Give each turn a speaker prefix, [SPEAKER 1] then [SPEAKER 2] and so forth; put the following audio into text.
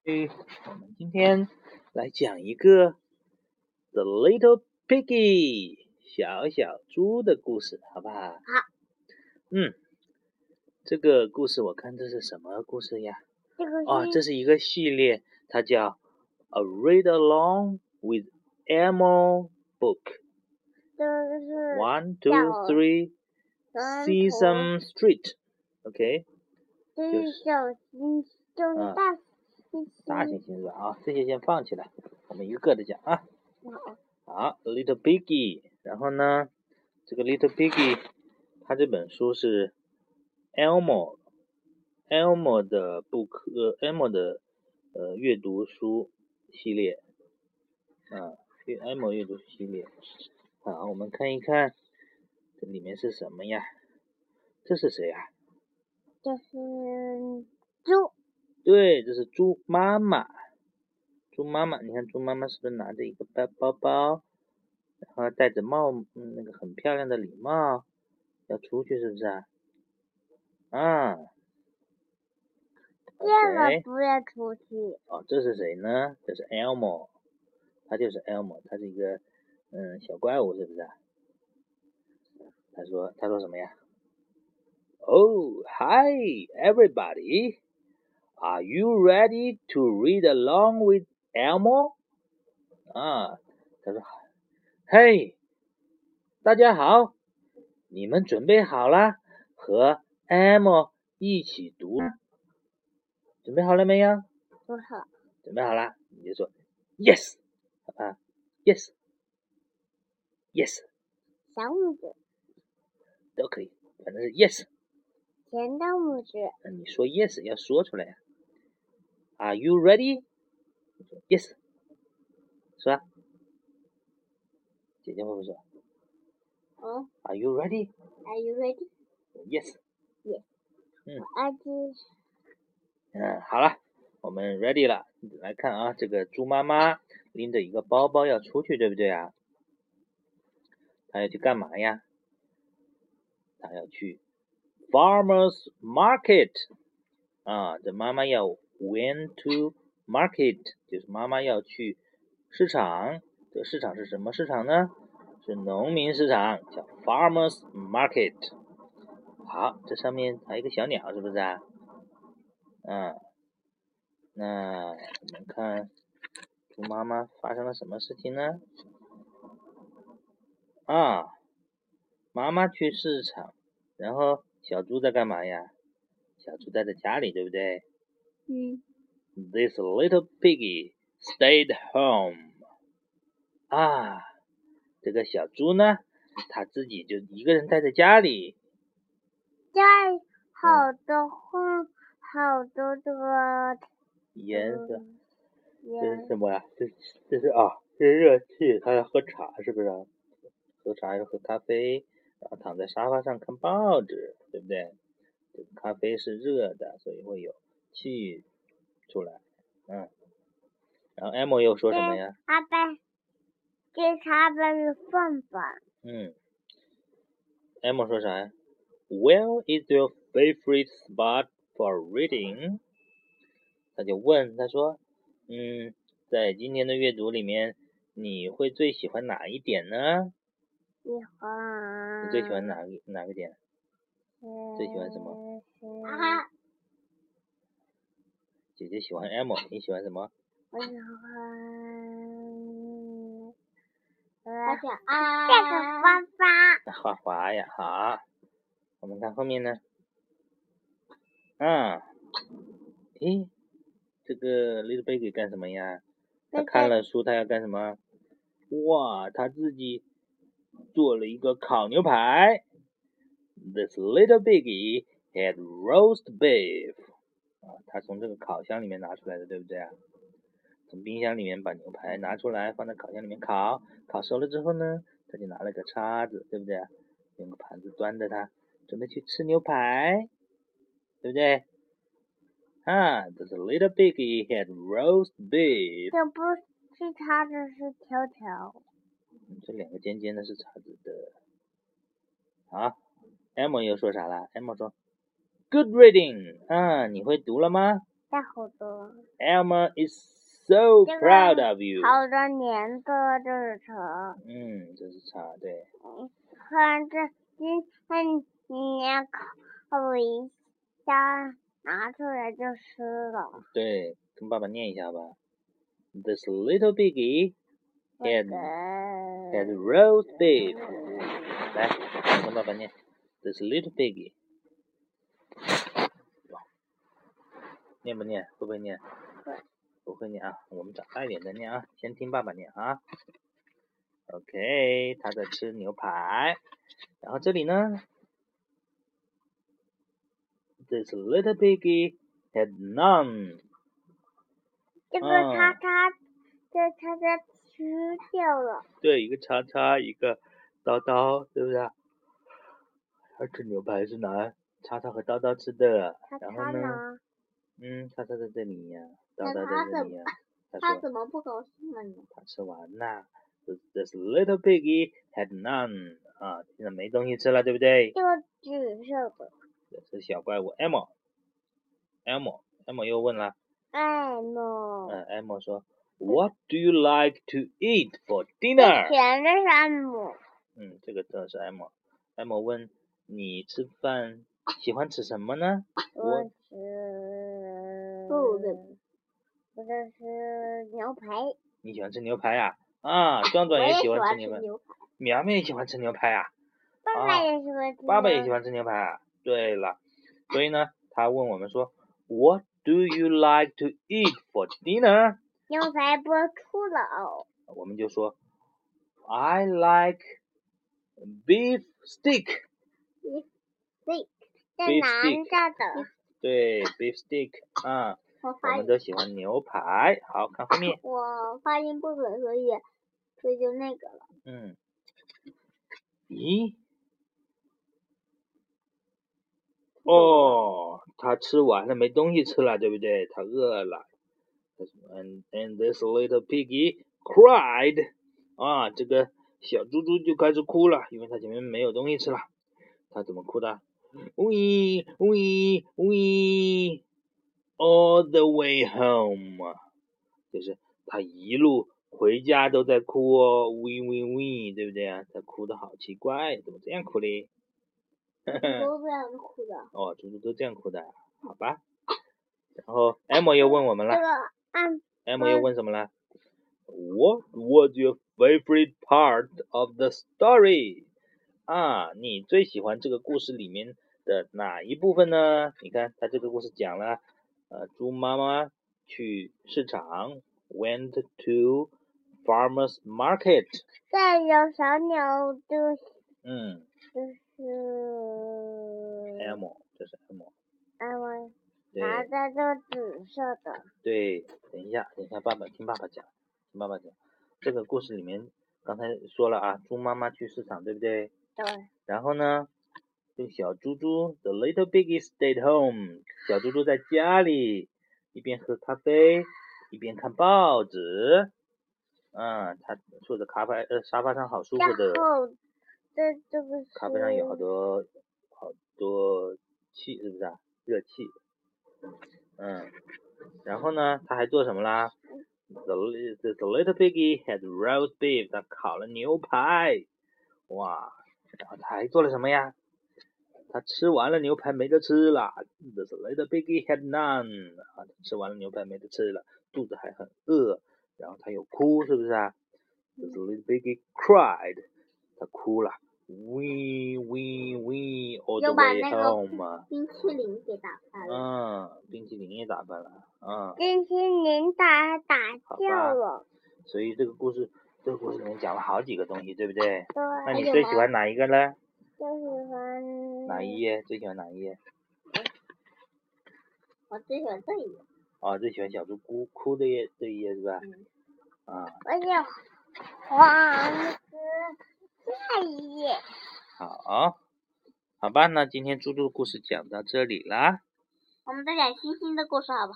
[SPEAKER 1] 我们今天来讲一个 The Little Piggy 小小猪的故事，好不好？
[SPEAKER 2] 好。
[SPEAKER 1] 这个故事我看这是什么故事呀？这是一个系列，它叫 A Read Along with Elmo Book。1, 2, 3 Sesame Street。OK，
[SPEAKER 2] 就是小星星，大星星。
[SPEAKER 1] 大猩猩是吧？这些先放起来，我们一个个的讲啊。好 ，Little Piggy， 然后呢，这个 Little Piggy， 它这本书是 Elmo 的Elmo 的阅读书系列，Elmo 阅读系列。好，我们看一看这里面是什么呀？这是谁呀？
[SPEAKER 2] 这是猪。
[SPEAKER 1] 对，这是猪妈妈。猪妈妈，你看猪妈妈是不是拿着一个包包，然后戴着那个很漂亮的礼帽，要出去是不是啊？
[SPEAKER 2] 这个不要出去。
[SPEAKER 1] 这是谁呢？这是 Elmo， 他就是 Elmo， 他是一个小怪物，是不是啊？他说什么呀？Oh, hi everybody. Are you ready to read along with Elmo? 他说嘿，大家好，你们准备好了和 Elmo 一起读？准备好了没有？
[SPEAKER 2] 不好。
[SPEAKER 1] 准备好了，你就说 Yes ，Yes，
[SPEAKER 2] 小拇指
[SPEAKER 1] 都可以，反正是 Yes。
[SPEAKER 2] 前大拇指。
[SPEAKER 1] 你说 Yes 要说出来呀。Are you ready? Yes， 说啊，姐姐会不会说？Are you ready?
[SPEAKER 2] Are you ready?
[SPEAKER 1] Yes。
[SPEAKER 2] 好
[SPEAKER 1] 了，我们 ready 了。来看啊，这个猪妈妈拎着一个包包要出去，对不对啊？她要去干嘛呀？她要去 Farmers Market。这妈妈要 went to market， 就是妈妈要去市场。这个市场是什么市场呢？是农民市场，叫 Farmers Market。好，这上面还有一个小鸟，是不是啊？那我们看猪妈妈发生了什么事情呢？妈妈去市场，然后小猪在干嘛呀？小猪待在家里，对不对？This little piggy stayed home。这个小猪呢，它自己就一个人待在家里。
[SPEAKER 2] 在好多这个
[SPEAKER 1] 颜色，这是什么呀？这是热气，他要喝茶，是不是？喝茶要喝咖啡，然后躺在沙发上看报纸，对不对？这个咖啡是热的，所以会有气出来。然后 Elmo 又说什么呀？
[SPEAKER 2] 这他的饭饭。
[SPEAKER 1] Elmo 说啥呀？ Where is your favorite spot for reading？ 他就问，他说，在今天的阅读里面，你会最喜欢哪一点呢？你最喜欢哪个点？最喜欢什么？姐姐喜欢 Elmo， 你喜欢什么？
[SPEAKER 2] 我喜欢这个花花。
[SPEAKER 1] 花花呀，好。我们看后面呢。这个 Little Piggy 干什么呀？他看了书，他要干什么？哇，他自己做了一个烤牛排。This little piggy had roast beef。他从这个烤箱里面拿出来的，对不对啊？从冰箱里面把牛排拿出来，放在烤箱里面烤，烤熟了之后呢，他就拿了个叉子，对不对？用个盘子端着它，准备去吃牛排，对不对？The little piggy had roast beef。
[SPEAKER 2] 这不是叉子，是条条。
[SPEAKER 1] 这两个尖尖的是叉子的。好 ，Elmo 又说啥了 ？Elmo 说 ，Good reading。你会读了吗
[SPEAKER 2] 带好多。
[SPEAKER 1] Elmo is so proud of you。
[SPEAKER 2] 好多年的这是茶。
[SPEAKER 1] 这是茶，对。
[SPEAKER 2] 看这今天你要烤一下，拿出来就吃了。
[SPEAKER 1] 对，跟爸爸念一下吧。This little piggy had roast beef。来，跟爸爸念。This little piggy。念不念？会不会念？
[SPEAKER 2] 会。
[SPEAKER 1] 不会念啊，我们长大一点再念啊。先听爸爸念啊。OK， 他在吃牛排。然后这里呢 ，This little piggy had none。
[SPEAKER 2] 这个叉叉，这叉叉吃掉了。
[SPEAKER 1] 对，一个叉叉，一个刀刀，对不对？他吃牛排是拿叉叉和刀刀吃的。然后呢？叉叉在这里呀，刀刀在这里呀。
[SPEAKER 2] 他怎么不高兴了呢？
[SPEAKER 1] 他吃完了。This little piggy had none。现在没东西吃了，对不对？
[SPEAKER 2] 这个紫色的。
[SPEAKER 1] 这是小怪物 Elmo 又问了。Elmo 说 ，What do you like to eat for dinner？
[SPEAKER 2] 甜的是 Elmo。
[SPEAKER 1] 这个真的是 Elmo 问你吃饭喜欢吃什么呢？
[SPEAKER 2] 我吃我这是牛排。
[SPEAKER 1] 你喜欢吃牛排啊？壮壮也喜欢吃牛排。苗苗也喜欢吃牛排啊。
[SPEAKER 2] 爸爸也喜欢吃。
[SPEAKER 1] 爸爸也喜欢吃牛排啊。对了，所以呢，他问我们说 ，What do you like to eat for dinner？
[SPEAKER 2] 牛排播出了哦。
[SPEAKER 1] 我们就说 ，I like beef steak。
[SPEAKER 2] 在南家的。
[SPEAKER 1] 对 ，beef steak 我们都喜欢牛排。好看后面。
[SPEAKER 2] 我发音不准，所以就那个了。
[SPEAKER 1] 咦？他吃完了，没东西吃了，对不对？他饿了。And this little piggy cried。这个小猪猪就开始哭了，因为他前面没有东西吃了。他怎么哭的 ？We all the way home。就是他一路回家都在哭哦 ，we， 对不对啊？他哭的好奇怪，怎么这样哭嘞？
[SPEAKER 2] 都这样哭的。
[SPEAKER 1] 猪猪都这样哭的，好吧。然后 Elmo 又问我们了。Elmo 又问什么了 ？What was your favorite part of the story？ 你最喜欢这个故事里面的哪一部分呢？你看，他这个故事讲了，猪妈妈去市场 ，went to farmer's market。
[SPEAKER 2] 再有小鸟的。就是
[SPEAKER 1] Elmo， 这是
[SPEAKER 2] Elmo。拿着这紫色的。
[SPEAKER 1] 对，等一下，爸爸听爸爸讲，这个故事里面刚才说了啊，猪妈妈去市场，对不对？
[SPEAKER 2] 对。
[SPEAKER 1] 然后呢，这个小猪猪 ，the little piggy stayed home。小猪猪在家里，一边喝咖啡，一边看报纸。他坐在沙发上，好舒服的。
[SPEAKER 2] 这个是。
[SPEAKER 1] 咖啡上有好多气，是不是啊？热气。然后呢，他还做什么啦 ？The little piggy had roast beef。他烤了牛排。哇！然后他还做了什么呀？他吃完了牛排没得吃了。The little piggy had none。他吃完了牛排没得吃了，肚子还很饿。然后他又哭，是不是啊 ？The little piggy cried。他哭了。We all the way home。
[SPEAKER 2] 冰淇淋给打翻了。
[SPEAKER 1] 冰淇淋也打翻了。
[SPEAKER 2] 冰淇淋打掉了。
[SPEAKER 1] 所以这个故事里面讲了好几个东西，对不对？
[SPEAKER 2] 对。
[SPEAKER 1] 那你最喜欢哪一个呢？
[SPEAKER 2] 最喜欢
[SPEAKER 1] 哪一页？最喜欢哪一页？
[SPEAKER 2] 我最喜欢这一页。
[SPEAKER 1] 最喜欢小猪哭的这一页是吧？
[SPEAKER 2] 我喜欢黄色这一页。
[SPEAKER 1] 好吧，那今天猪猪的故事讲到这里啦。
[SPEAKER 2] 我们再讲星星的故事好不好？